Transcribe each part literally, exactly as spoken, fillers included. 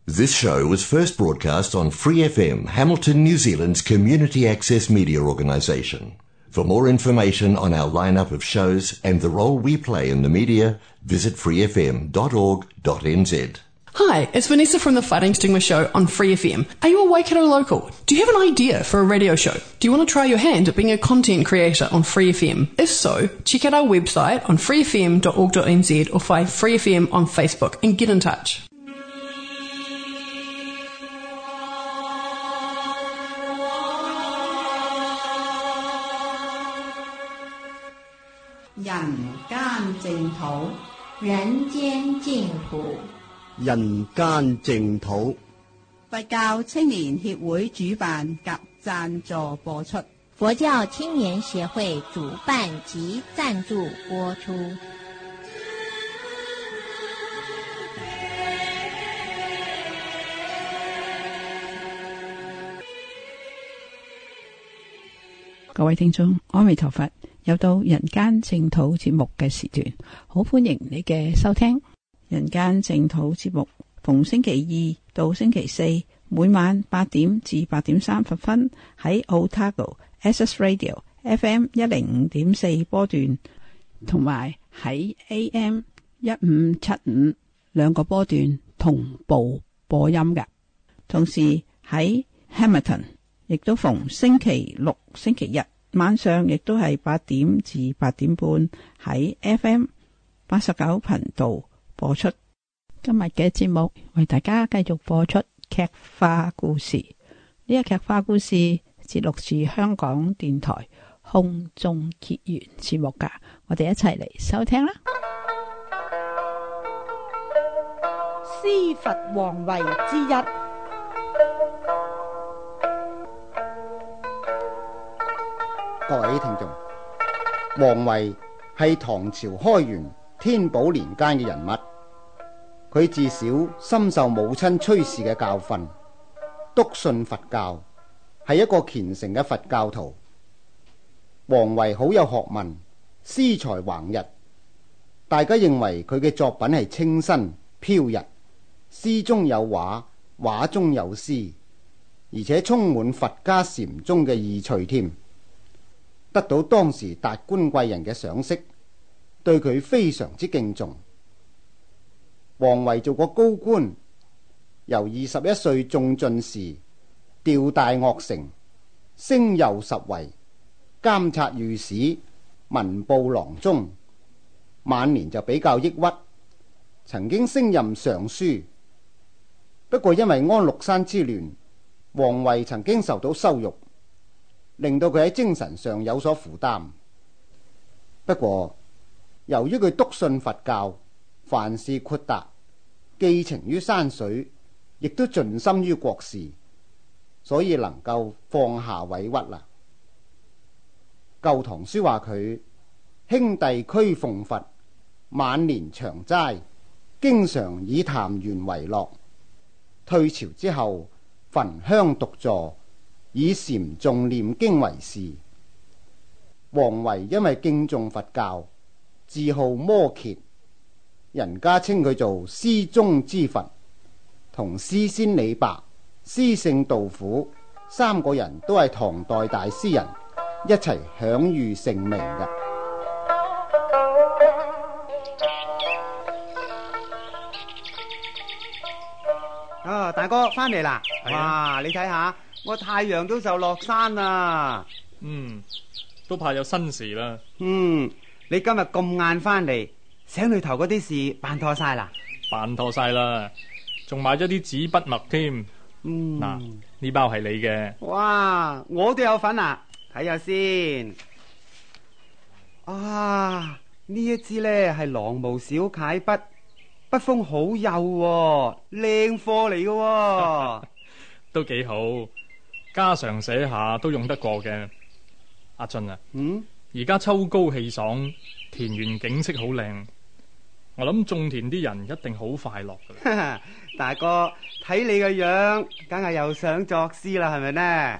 This show was first broadcast on Free F M, Hamilton, New Zealand's community access media organisation. For more information on our lineup of shows and the role we play in the media, visit free f m dot org dot n z. Hi, it's Vanessa from the Fighting Stigma Show on Free F M. Are you a Waikato local? Do you have an idea for a radio show? Do you want to try your hand at being a content creator on Free F M? If so, check out our website on free f m dot org dot n z or find Free F M on Facebook and get in touch. 人間淨土，人間淨土， 人間淨土。 佛教青年協會主辦及贊助播出。 佛教青年協會主辦及贊助播出。 各位聽眾，阿彌陀佛，又到人間淨土節目嘅時段，好歡迎你嘅收聽。人間淨土節目逢星期二到星期四，每晚八點至八點三十分喺 Otago Access Radio F M 一零五點四波段，同埋喺 A M 一五七五兩個波段同步播音嘅。同時喺 Hamilton 亦都逢星期六、星期日晚上，亦都係八點至八點半喺 F M 八十九頻道播出。今日嘅節目為大家繼續播出劇化故事。呢個劇化故事節錄自香港電台空中結緣節目噶，我哋一齊嚟收聽啦。 師佛皇位之一。 各位聽眾，王維係唐朝開元天寶年間嘅人物，佢自小深受母親崔氏嘅教訓，篤信佛教，係一個虔誠嘅佛教徒。王維好有學問，詩才橫溢，大家認為佢嘅作品係清新飄逸，詩中有畫，畫中有詩，而且充滿佛家禪宗嘅意趣添。得到當時達官貴人嘅賞識，對佢非常之敬重。王維做過高官，由二十一歲中進士，調大岳城，升右十圍，監察御史，文部郎中。晚年就比較抑鬱，曾經升任尚書。不過因為安祿山之亂，王維曾經受到羞辱，令到佢喺精神上有所負擔。不過由於佢篤信佛教，凡事豁達，寄情於山水，亦都盡心於國事，所以能夠放下委屈啦。舊唐書話佢兄弟俱奉佛，晚年長齋，經常以談緣為樂。退朝之後，焚香獨坐，以禪誦念經為事。王維因為敬重佛教，自號摩羯，人家稱佢做詩中之佛。同詩仙李白、詩聖杜甫三個人都係唐代大詩人，一齊享譽盛名嘅。 啊，大哥翻嚟啦！哇，你睇下，我太陽都就落山啦。 嗯，都怕有新事啦。 嗯，你今日咁晏翻嚟，醒裏頭嗰啲事辦妥晒啦？ 辦妥晒啦，仲買咗啲紙筆墨添。嗯，嗱，呢包係你嘅。 哇，我都有份啊！睇下先。啊，呢一支呢係狼毛小楷筆。筆鋒好幼喎，靚貨嚟嘅， 都幾好，家常寫下都用得過嘅。阿俊啊，嗯，而家秋高氣爽，田園景色好靚，我諗種田啲人一定好快樂噶啦。 大哥，睇你個樣，梗係又想作詩啦，係咪呢？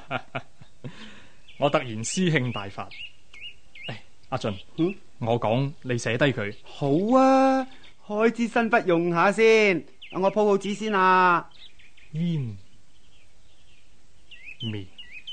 我突然詩興大發，誒，阿俊，嗯，我講你寫低佢。 好啊。開支新筆用下先， 我鋪好紙先啊。 煙面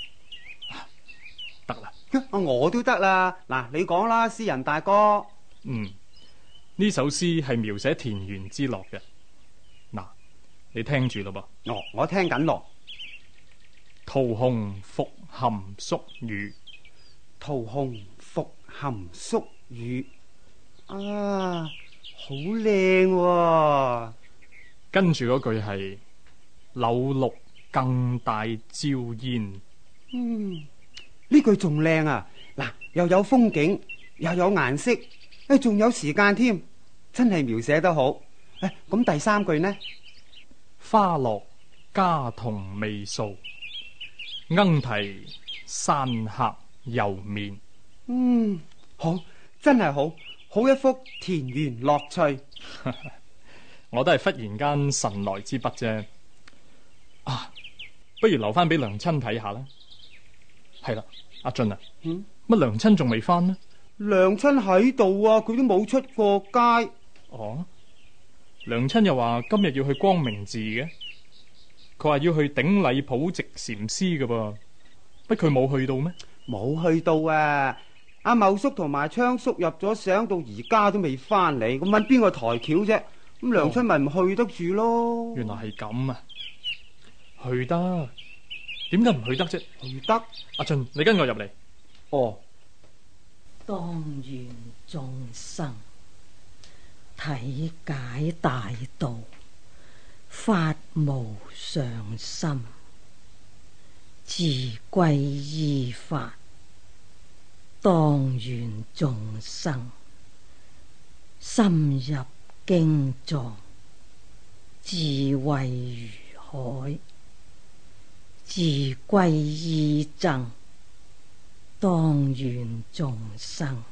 得啦， 我都得啦。嗱，你講啦，詩人大哥。 嗯，呢首詩係描寫田園之樂嘅。嗱，你聽住咯噃。 哦，我聽緊咯。 桃紅復含宿雨， 桃紅復含宿雨。啊，好靚喎。 跟住嗰句係柳綠更帶朝煙。 嗯，呢句仲靚啊！嗱，又有風景，又有顏色，誒，仲有時間添，真係描寫得好。誒，咁第三句呢？ 花落家童未掃，鶯啼山客猶眠。 嗯，好，真係好，好一幅田園樂趣。 我都係忽然間神來之筆啫。啊，不如留翻俾娘親睇下啦。係啦，阿俊啊， 嗯， 乜娘親仲未翻呢？ 娘親喺度啊，佢都冇出過街。 哦，娘親又話今日要去光明寺嘅，佢話要去頂禮普寂禪師㗎噃，乜佢冇去到咩？ 冇去到啊！阿茂叔同埋昌叔入咗省，到而家都未翻嚟，咁搵邊個抬轎啫？咁娘親咪唔去得住咯。 原來係咁啊，去得，點解唔去得啫？ 去得， 阿俊，你跟我入嚟。 哦， 當願眾生體解大道，發無上心，自歸依法。當願眾生深入經藏，智慧如海，自歸依僧。當願眾生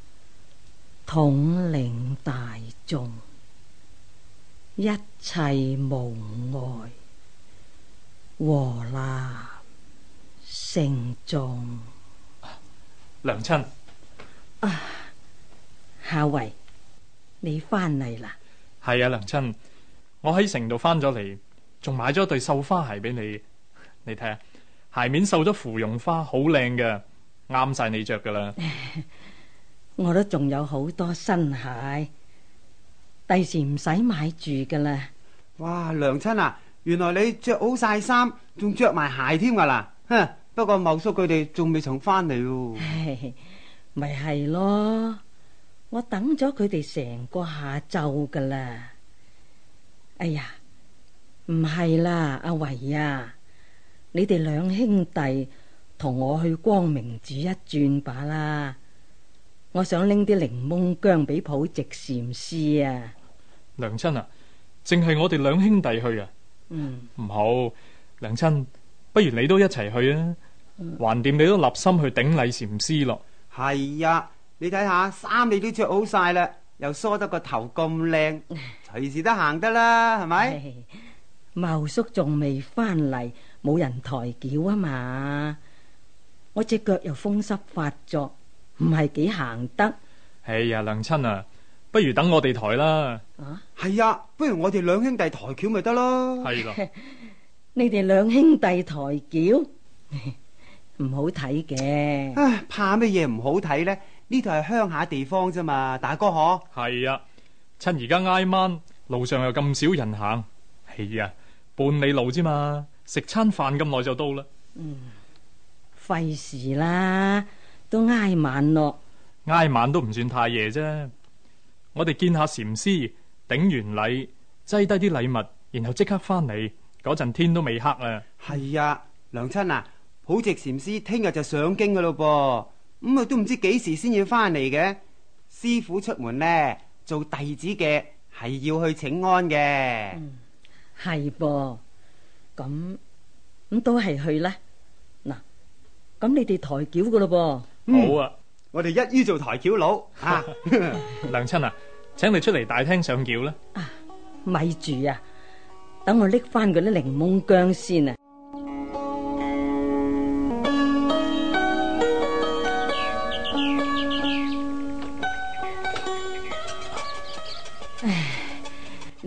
統領大眾，一切無礙，和立聖眾。 娘親啊，夏維，你翻嚟啦？ 係啊，娘親，我喺城度翻咗嚟，仲買咗對繡花鞋俾你。你睇下，鞋面繡咗芙蓉花，好靚嘅，啱晒你着噶啦。 我都仲有好多新鞋，第時唔使買住噶啦。 哇，娘親啊，原來你着好晒衫，仲着埋鞋添噶啦。哼，不過茂叔佢哋仲未曾翻嚟喎。 咪係咯，我等咗佢哋成個下晝噶啦。哎呀，唔係啦，阿維啊，你哋兩兄弟同我去光明寺一轉吧啦。我想拎啲檸檬薑俾普寂禪師啊。 娘親啊，淨係我哋兩兄弟去啊？ 嗯， 唔好，娘親，不如你都一齊去啊。橫掂你都立心去頂禮禪師咯。 係呀，你睇下衫你都着好晒啦，又梳得個頭咁靚，隨時都行得啦，係咪？ 茂叔仲未翻嚟，冇人抬轎啊嘛。我隻腳又風濕發作，唔係幾行得。 哎呀，娘親啊，不如等我哋抬啦。 啊， 係呀，不如我哋兩兄弟抬轎咪得咯。 係咯， 你哋兩兄弟抬轎唔好睇嘅。 唉，怕乜嘢唔好睇呢？呢度係鄉下地方啫嘛，大哥可。 係啊，趁而家挨晚，路上又咁少人行，係啊，半里路之嘛，食餐飯咁耐就到啦。 嗯，費事啦，都挨晚咯。 挨晚都唔算太夜啫。我哋見下禪師，頂完禮，擠低啲禮物，然後即刻翻嚟，嗰陣天都未黑啊。 係啊，娘親啊，普寂禪師聽日就上京噶咯噃，咁啊都唔知幾時先要翻嚟嘅。師傅出門呢，做弟子嘅係要去請安嘅。 嗯，係噃，咁咁都係去啦。嗱，咁你哋抬轎噶咯噃。 嗯，好啊， 我哋一於做抬轎佬啊。 娘親啊，請你出嚟大廳上轎啦。 啊，咪住啊，等我拎翻嗰啲檸檬薑先啊。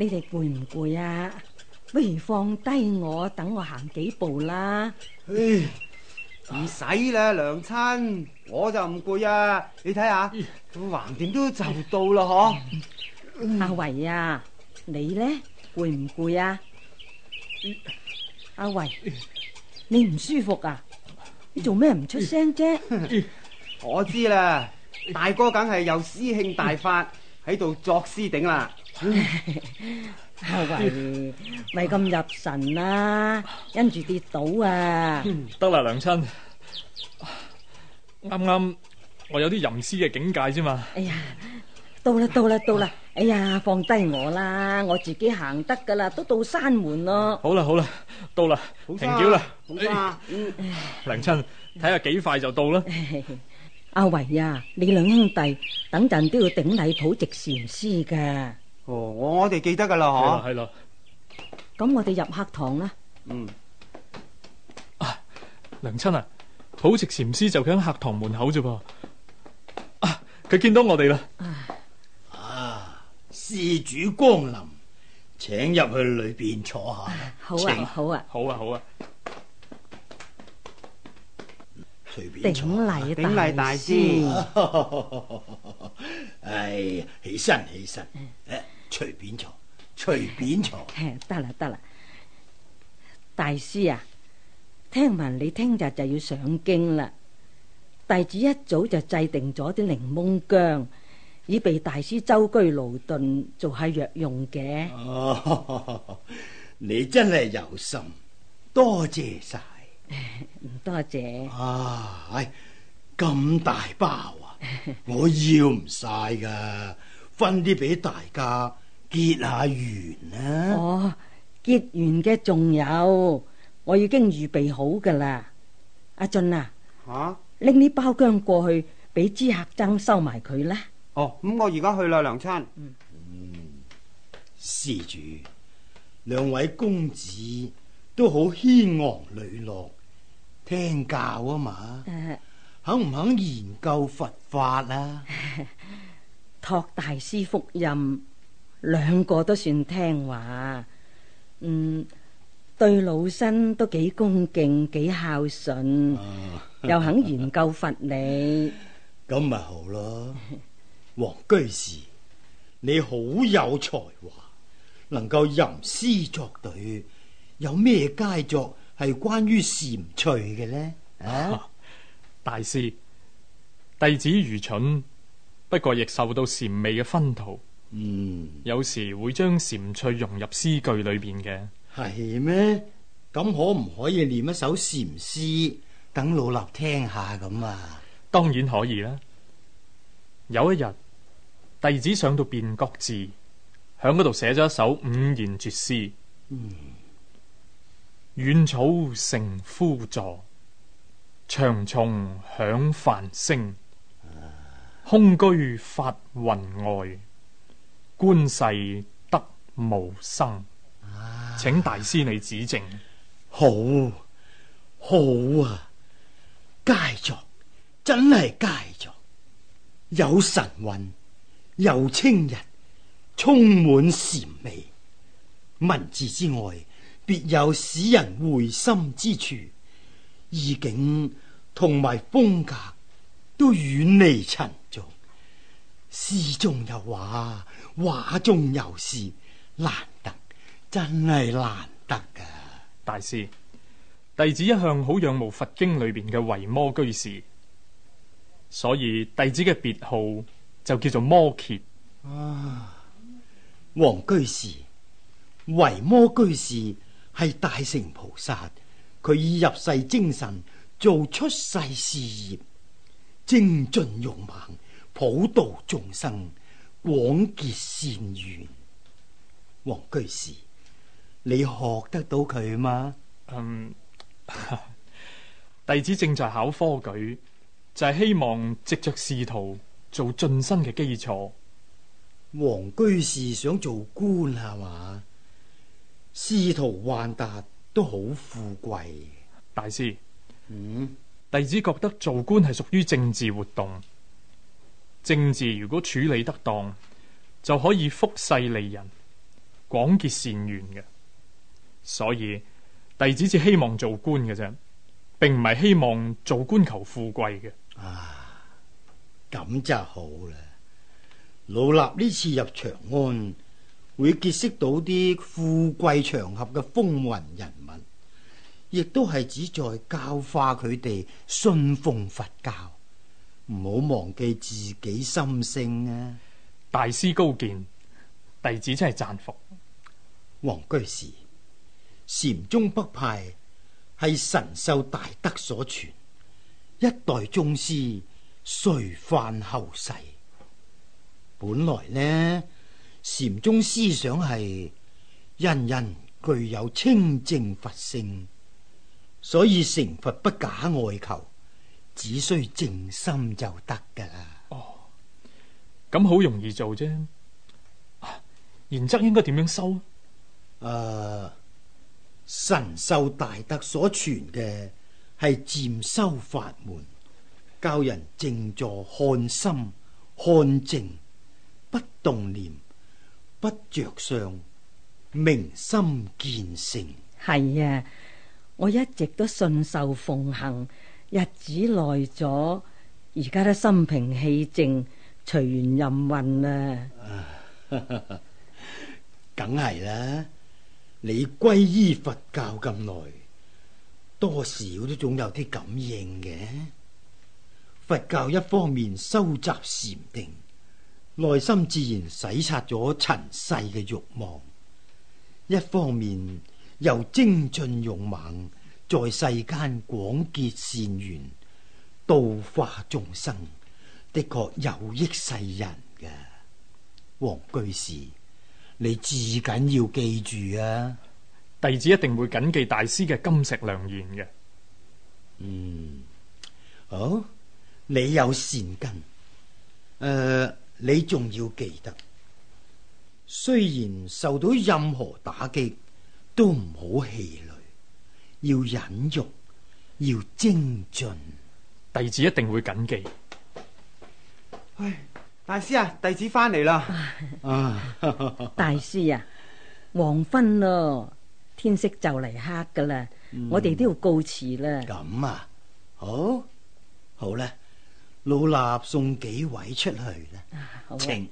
你哋攰唔攰啊？不如放低我，等我行幾步啦。 唉，唔使啦，娘親，我就唔攰啊。你睇下，橫掂都就到啦，嗬、 嗯。阿維啊，你呢？攰唔攰啊？阿維，你唔舒服啊？你做咩唔出聲啫？ 我知啦，大哥梗係有師兄大法喺度作詩頂啦。 阿維，咪咁入神啦，因住跌倒啊！ 得啦，娘親，啱啱我有啲吟詩嘅境界啫嘛。 哎呀，到啦到啦到啦！哎呀，放低我啦，我自己行得噶啦，都到山門咯。 好啦好啦，到啦，停轎啦。 好啊， 娘親，睇下幾快就到啦。 阿維啊，你兩兄弟等陣都要頂禮普直禪師噶。 哦，我哋記得噶啦，嗬。 係咯。 咁我哋入客堂啦。 嗯。 啊，娘親啊，普直禪師就喺客堂門口啫噃。啊，佢見到我哋啦。 啊，施主光臨，請入去裏邊坐下。 好啊，好啊， 好啊，好啊。 隨便坐。 頂禮頂禮大師。 唉，起身起身，誒，隨便坐，隨便坐。 得啦得啦，大師啊，聽聞你聽日就要上京啦，弟子一早就制定咗啲檸檬薑，以備大師舟車勞頓做下藥用嘅。 哦，你真係有心，多謝晒。 唔多謝。 啊，唉，咁大包啊，我要唔晒噶，分啲俾大家結下緣啊。 哦，結緣嘅仲有，我已經預備好噶啦。阿俊啊， 吓， 拎啲包薑過去俾知客僧收埋佢啦。 哦，咁我而家去啦，娘親。 嗯，施主，兩位公子都好謙昂磊落，聽教啊嘛， 誒， 肯唔肯研究佛法啊？ 託大師福蔭，兩個都算聽話。嗯，對老身都幾恭敬，幾孝順，啊、又肯研究佛理， 咁咪好咯。黃居士，你好有才華，能夠吟詩作對，有咩佳作係關於禪趣嘅呢？啊， 大師，弟子愚蠢，不過亦受到禪味嘅熏陶。嗯，有時會將禪趣融入詩句裏邊嘅。 係咩？咁可唔可以念一首禪詩，等老衲聽下咁啊？ 當然可以啦。有一日，弟子上到辨覺寺，響嗰度寫咗一首五言絕詩。嗯，遠草成枯坐，長蟲響梵聲，空居法雲外，觀世得無生。啊、請大師你指正。 好，好啊，佳作，真係佳作，有神韻，有清逸，充滿禪味。文字之外，別有使人會心之處，意境同埋風格都遠離塵俗。詩中有畫，畫中有詩，難得，真係難得噶。 大師，弟子一向好仰慕佛經裏邊嘅維摩居士，所以弟子嘅別號就叫做摩羯。 啊，黃居士，維摩居士係大乘菩薩，佢以入世精神做出世事業，精進勇猛，普度眾生，廣結善緣。黃居士，你學得到佢嗎？ 嗯，弟子正在考科舉，就係、是、希望藉着仕途做晉身嘅基礎。 黃居士想做官係嘛？仕途宦達都好富貴。 大師， 嗯， 弟子覺得做官係屬於政治活動，政治如果處理得當，就可以福世利人， 廣結善緣嘅，所以弟子只希望做官嘅啫，並唔係希望做官求富貴嘅。 啊，咁就好啦。老衲呢次入長安，會結識到啲富貴場合嘅風雲人物，亦都係旨在教化佢哋信奉佛教，唔好忘記自己心性啊！ 大師高見，弟子真係讚服。 黃居士，禪宗北派係神秀大德所傳，一代宗師垂範後世。本來呢，禪宗思想係人人具有清淨佛性，所以成佛不假外求，只需靜心就得噶啦。 哦，咁好容易做啫。然則應該點樣修？ 誒、呃，神秀大德所傳嘅係漸修法門，教人靜坐看心看靜，不動念，不着相，明心見性。 係啊，我一直都信受奉行，日子耐咗，而家都心平氣靜，隨緣任運啦。 梗係啦，你皈依佛教咁耐，多少都總有啲感應嘅。佛教一方面收集禪定，內心自然洗刷咗塵世嘅慾望；一方面又精進勇猛，在世間廣結善緣，度化眾生，的確有益世人嘅。黃居士，你至緊要記住啊！ 弟子一定會謹記大師嘅金石良言嘅。 嗯，好，你有善根，誒、呃，你仲要記得，雖然受到任何打擊，都唔好氣餒，要忍辱，要精進。 弟子一定會謹記。 唉，大師啊，弟子翻嚟啦。 大師啊，黃昏咯，天色就嚟黑噶啦，嗯、我哋都要告辭啦。 咁啊，好，好啦，老衲送幾位出去啦。 啊、 請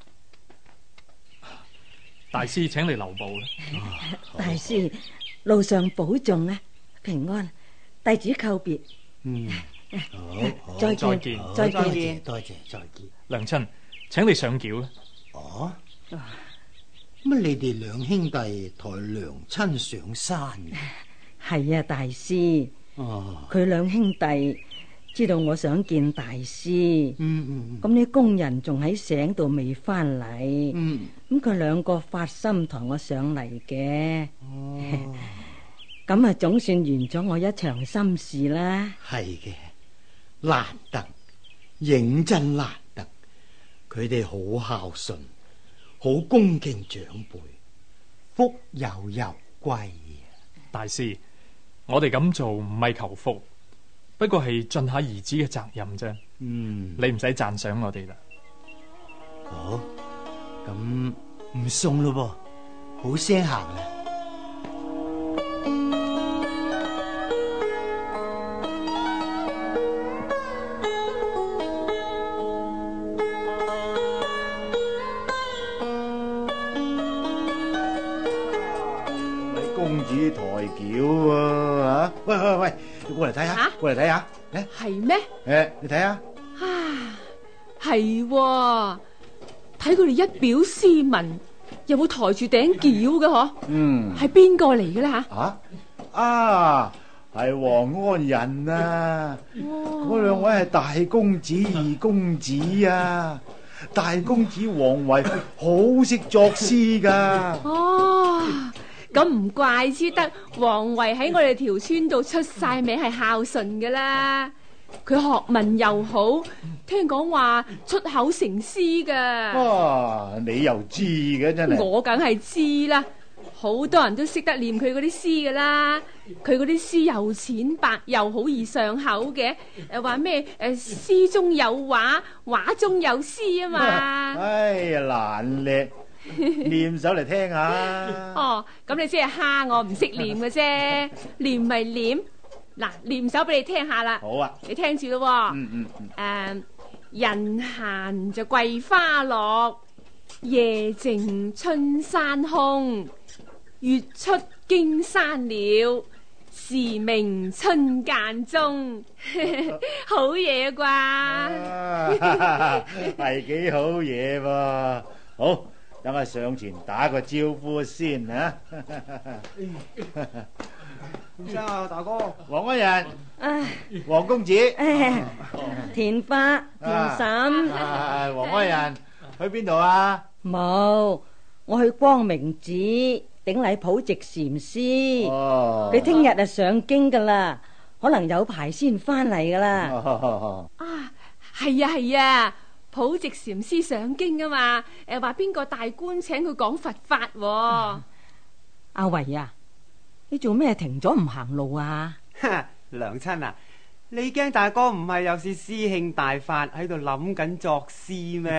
大師請你留步啦。 啊、大師路上保重啊，平安。弟子告別。 嗯，好， 再見，再見， 再見，多謝，再見。 娘親，請你上轎啦。 哦，乜你哋兩兄弟抬娘親上山嘅？ 係啊，大師。哦，佢兩兄弟知道我想見大師。嗯嗯。咁啲工人仲喺醒度未翻嚟。嗯。咁佢兩個發心抬我上嚟嘅。哦。咁啊，總算完咗我一場心事啦。 係嘅，難得，認真難得。佢哋好孝順，好恭敬長輩，福有攸歸。 大師，我哋咁做唔係求福，不過係盡下兒子嘅責任啫。嗯，你唔使讚賞我哋啦。 好，咁唔送咯噃，好聲行啦。抬轎啊！喂喂喂，過嚟睇下，過嚟睇下，嚟係咩？ 誒，你睇下啊，係睇佢哋一表斯文，又會抬住頂轎嘅嗬？嗯，係邊個嚟嘅咧吓？ 啊啊，係王安仁啊！嗰兩位係大公子、二公子啊！大公子王維好識作詩噶。 哦。咁唔怪之得王維喺我哋條村度出晒名係孝順噶啦，佢學問又好，聽講話出口成詩噶。 哇，你又知嘅真係？ 我梗係知啦，好多人都識得念佢嗰啲詩噶啦。佢嗰啲詩又淺白又好易上口嘅，誒話咩誒詩中有畫，畫中有詩啊嘛。 哎呀，難叻！ 念首嚟聽下。 哦，咁你先係蝦我唔識念嘅啫，念咪念。嗱，念首俾你聽下啦。 好啊， 你聽住咯。 嗯嗯嗯。誒，人閒就桂花落，夜靜春山空。月出驚山鳥，時鳴春澗中。好嘢啩？ 係幾好嘢噃。好，等我上前打個招呼先啊。 先生啊，大哥， 黃安人， 唉， 黃公子， 田花、田嬸， 黃安人去邊度啊？ 冇，我去光明寺頂禮普寂禪師。 哦， 佢聽日就上京噶啦，可能有排先翻嚟噶啦。 啊，係啊係啊，普寂禪師上京啊嘛，誒話邊個大官請佢講佛法喎。 阿維啊，你做咩停咗唔行路啊？ 娘親啊，你驚大哥唔係又是詩興大發喺度諗緊作詩咩？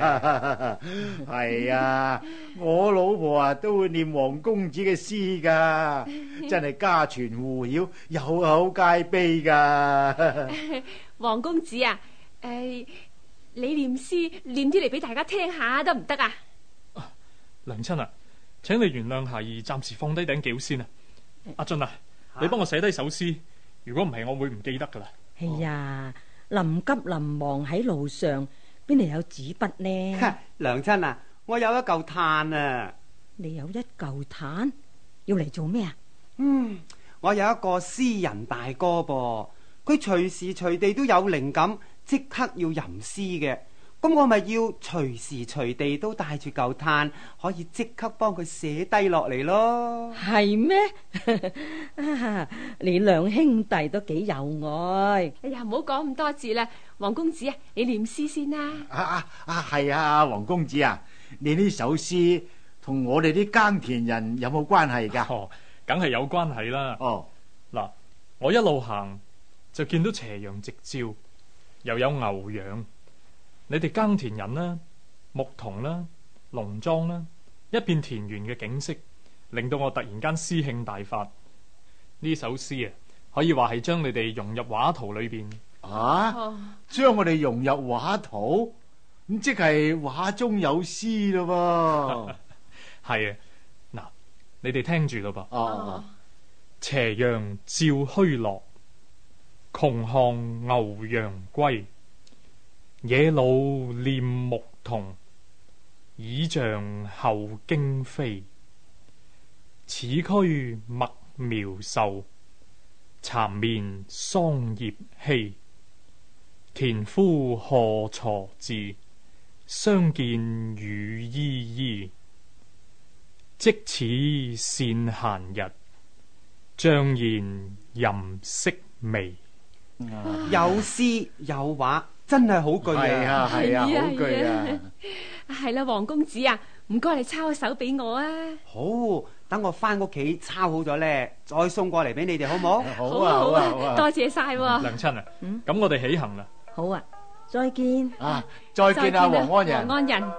係啊，我老婆啊都會念黃公子嘅詩噶，真係家傳戶曉，有口皆碑噶。 黃公子啊，誒、呃，你念詩念啲嚟俾大家聽下得唔得啊？ 娘親啊，請你原諒孩兒暫時放低頂轎先啊。阿俊啊，你幫我寫低首詩，如果唔係我會唔記得噶啦。 哎呀，臨急臨忙喺路上，邊度有紙筆呢？ 娘親啊，我有一嚿炭啊。 你有一嚿炭，要嚟做咩啊？ 嗯，我有一個詩人大哥噃，佢隨時隨地都有靈感，即刻要吟詩嘅。咁我咪要隨時隨地都帶住嚿炭，可以即刻幫佢寫低落嚟咯。 係咩？你兩兄弟都幾有愛。 哎呀，唔好講咁多字啦，黃公子啊，你念詩先啦。 啊啊啊，係啊，黃公子啊，你呢首詩同我哋啲耕田人有冇關係噶？ 哦，梗係有關係啦。 哦， 嗱，我一路行就見到斜陽直照，又有牛羊。你哋耕田人啦、牧童啦、農莊啦，一片田園嘅景色，令到我突然間詩興大發。呢首詩啊，可以話係將你哋融入畫圖裏邊。 啊，將我哋融入畫圖，咁即係畫中有詩咯噃。 係啊，嗱，你哋聽住咯噃。 哦， 斜陽照虛落，窮巷牛羊歸。野老念牧童，倚杖後驚飛。此區麥苗秀，蠶綿桑葉稀。田夫荷鋤至，相見雨依依。即此善閒日，醬然吟色微。 有詩有畫，真係好句啊！ 係啊係啊，好句啊！ 係啦，黃公子啊，唔該你抄一首俾我啊！ 好，等我翻屋企抄好咗咧，再送過嚟俾你哋，好唔好？ 好啊好啊好啊！ 多謝晒。 娘親啊，咁我哋起行啦。 好啊，再見啊！再見啊，黃安人。 黃安人。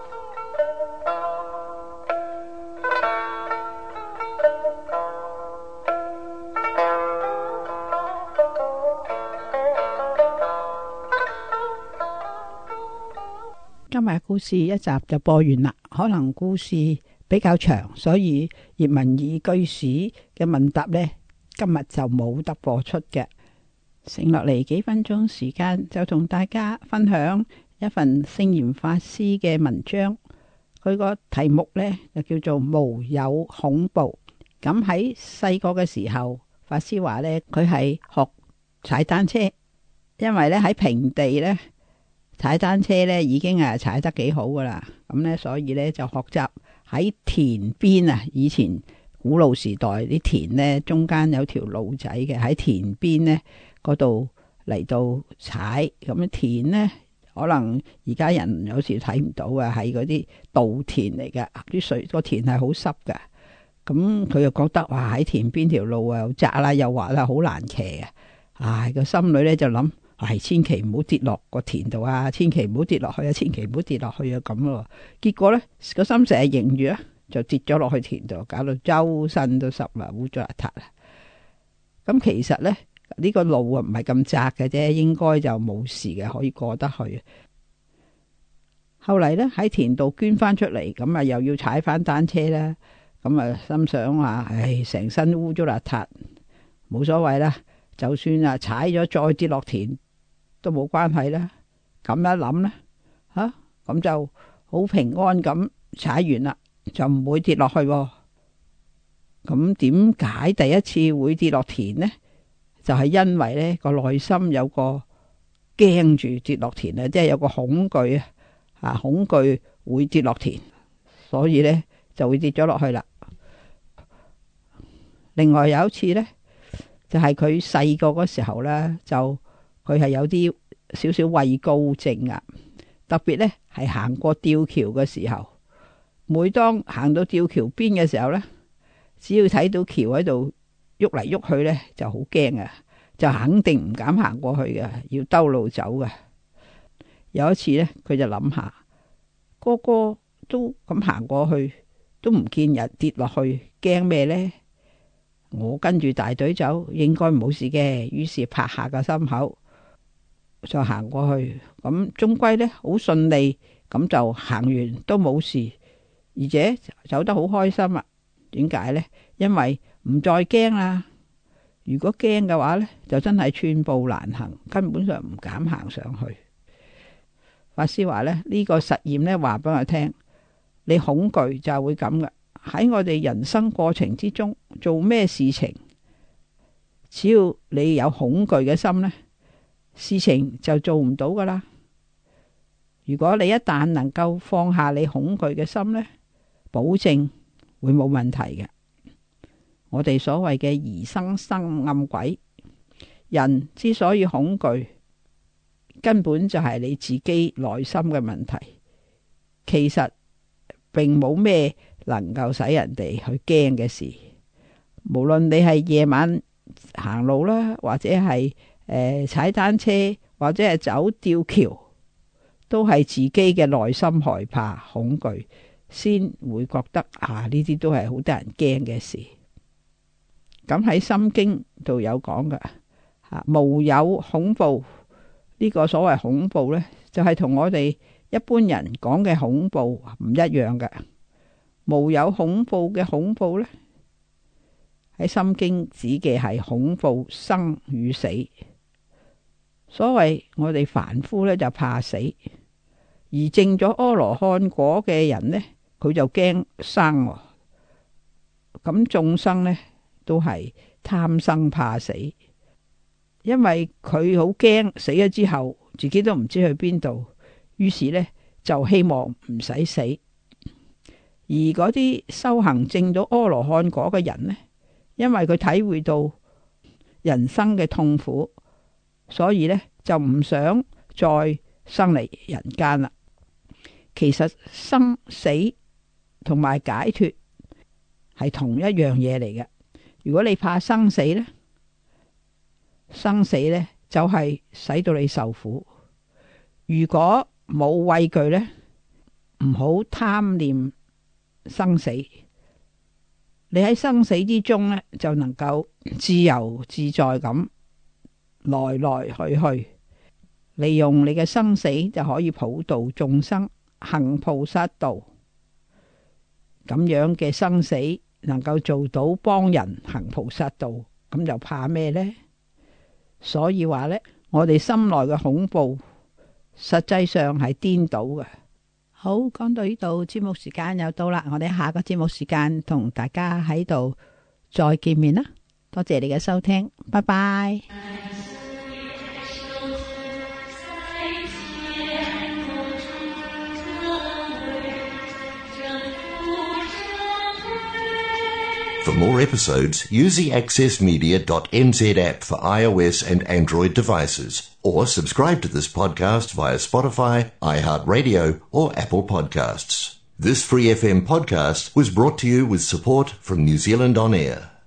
今日故事一集就播完啦，可能故事比較長，所以葉文義居士嘅問答呢，今日就冇得播出嘅。剩落嚟幾分鐘時間，就同大家分享一份聖嚴法師嘅文章。佢個題目呢，就叫做無有恐怖。咁喺細個嘅時候，法師話呢，佢係學踩單車，因為呢喺平地呢。踩單車咧已經係踩得幾好噶啦，咁咧所以咧就學習喺田邊啊。以前古老時代啲田咧中間有條路仔嘅，喺田邊咧嗰度嚟到踩。咁田咧可能而家人有時睇唔到啊，係嗰啲稻田嚟嘅，啲水個田係好濕嘅。咁佢又覺得哇，喺田邊條路啊又窄啦又滑啦，好難騎啊！唉，個心裏咧就諗。 係千祈唔好跌落個田度啊，千祈唔好跌落去啊，千祈唔好跌落去啊咁咯。結果咧個心成日迎住啊，就跌咗落去田度，搞到周身都濕啦，污糟邋遢啦。咁其實咧呢個路啊唔係咁窄嘅啫，應該就冇事嘅，可以過得去。後嚟咧喺田度捐翻出嚟，咁啊又要踩翻單車啦。咁啊心想話，唉，成身污糟邋遢，冇所謂啦，就算啊踩咗再跌落田都冇關係啦。咁一諗咧，吓咁就好平安咁踩完啦，就唔會跌落去。咁點解第一次會跌落田呢？就係因為咧個內心有個驚住跌落田啊，即係有個恐懼啊。啊！恐懼會跌落田，所以咧就會跌咗落去啦。另外有一次咧，就係佢細個嗰時候咧，就佢係有啲少少畏高症啊。特別咧係行過吊橋嘅時候，每當行到吊橋邊嘅時候咧，只要睇到橋喺度喐嚟喐去咧，就好驚啊！就肯定唔敢行過去嘅，要兜路走嘅。有一次咧，佢就諗下，個個都咁行過去，都唔見人跌落去，驚咩呢？我跟住大隊走，應該冇事嘅。於是拍下個心口，就行過去。咁終歸呢，好順利，咁就行完都冇事，而且走得好開心啊！點解呢？因為唔再驚啦。如果驚嘅話呢，就真係寸步難行，根本上唔敢行上去。法師話咧，呢個實驗咧，話俾我聽，你恐懼就係會咁嘅。喺我哋人生過程之中，做咩事情，只要你有恐懼嘅心呢，事情就做唔到噶啦。如果你一旦能夠放下你恐懼嘅心呢，保證會冇問題嘅。我哋所謂嘅疑心生暗鬼，人之所以恐懼，根本就係你自己內心嘅問題，其實並冇咩能夠使人哋去驚嘅事。無論你係夜晚行路啦，或者係誒、呃、踩單車，或者係走吊橋，都係自己嘅內心害怕恐懼，先會覺得啊呢啲都係好得人驚嘅事。咁喺《心經》度有講嘅，吓無有恐怖。呢個所謂恐怖呢，就係同我哋一般人講嘅恐怖唔一樣嘅。無有恐怖嘅恐怖呢，喺《心經》指嘅係恐怖生與死。所謂我哋凡夫呢，就怕死，而證咗阿羅漢果嘅人呢，佢就驚生。咁眾生呢，都係貪生怕死。因為佢好驚死咗之後自己都唔知去邊度，於是呢就希望唔使死。而嗰啲修行證到阿羅漢果嘅人呢，因為佢體會到人生嘅痛苦，所以呢就唔想再生嚟人間啦。其實生死同埋解脫係同一樣嘢嚟嘅。如果你怕生死呢，生死呢，就係使到你受苦。如果冇畏懼呢，唔好貪念生死。你喺生死之中呢，就能夠自由自在咁來來去去，利用你嘅生死就可以普度眾生，行菩薩道。咁樣嘅生死能夠做到幫人行菩薩道，咁就怕咩呢？所以話呢，我哋心內嘅恐怖，實際上係顛倒嘅。好，講到呢度，節目時間又到啦，我哋下個節目時間同大家喺度再見面啦。多謝你嘅收聽，拜拜。 For more episodes, use the access media dot n z app for iOS and Android devices, or subscribe to this podcast via Spotify, iHeartRadio, or Apple Podcasts. This Free F M podcast was brought to you with support from New Zealand On Air.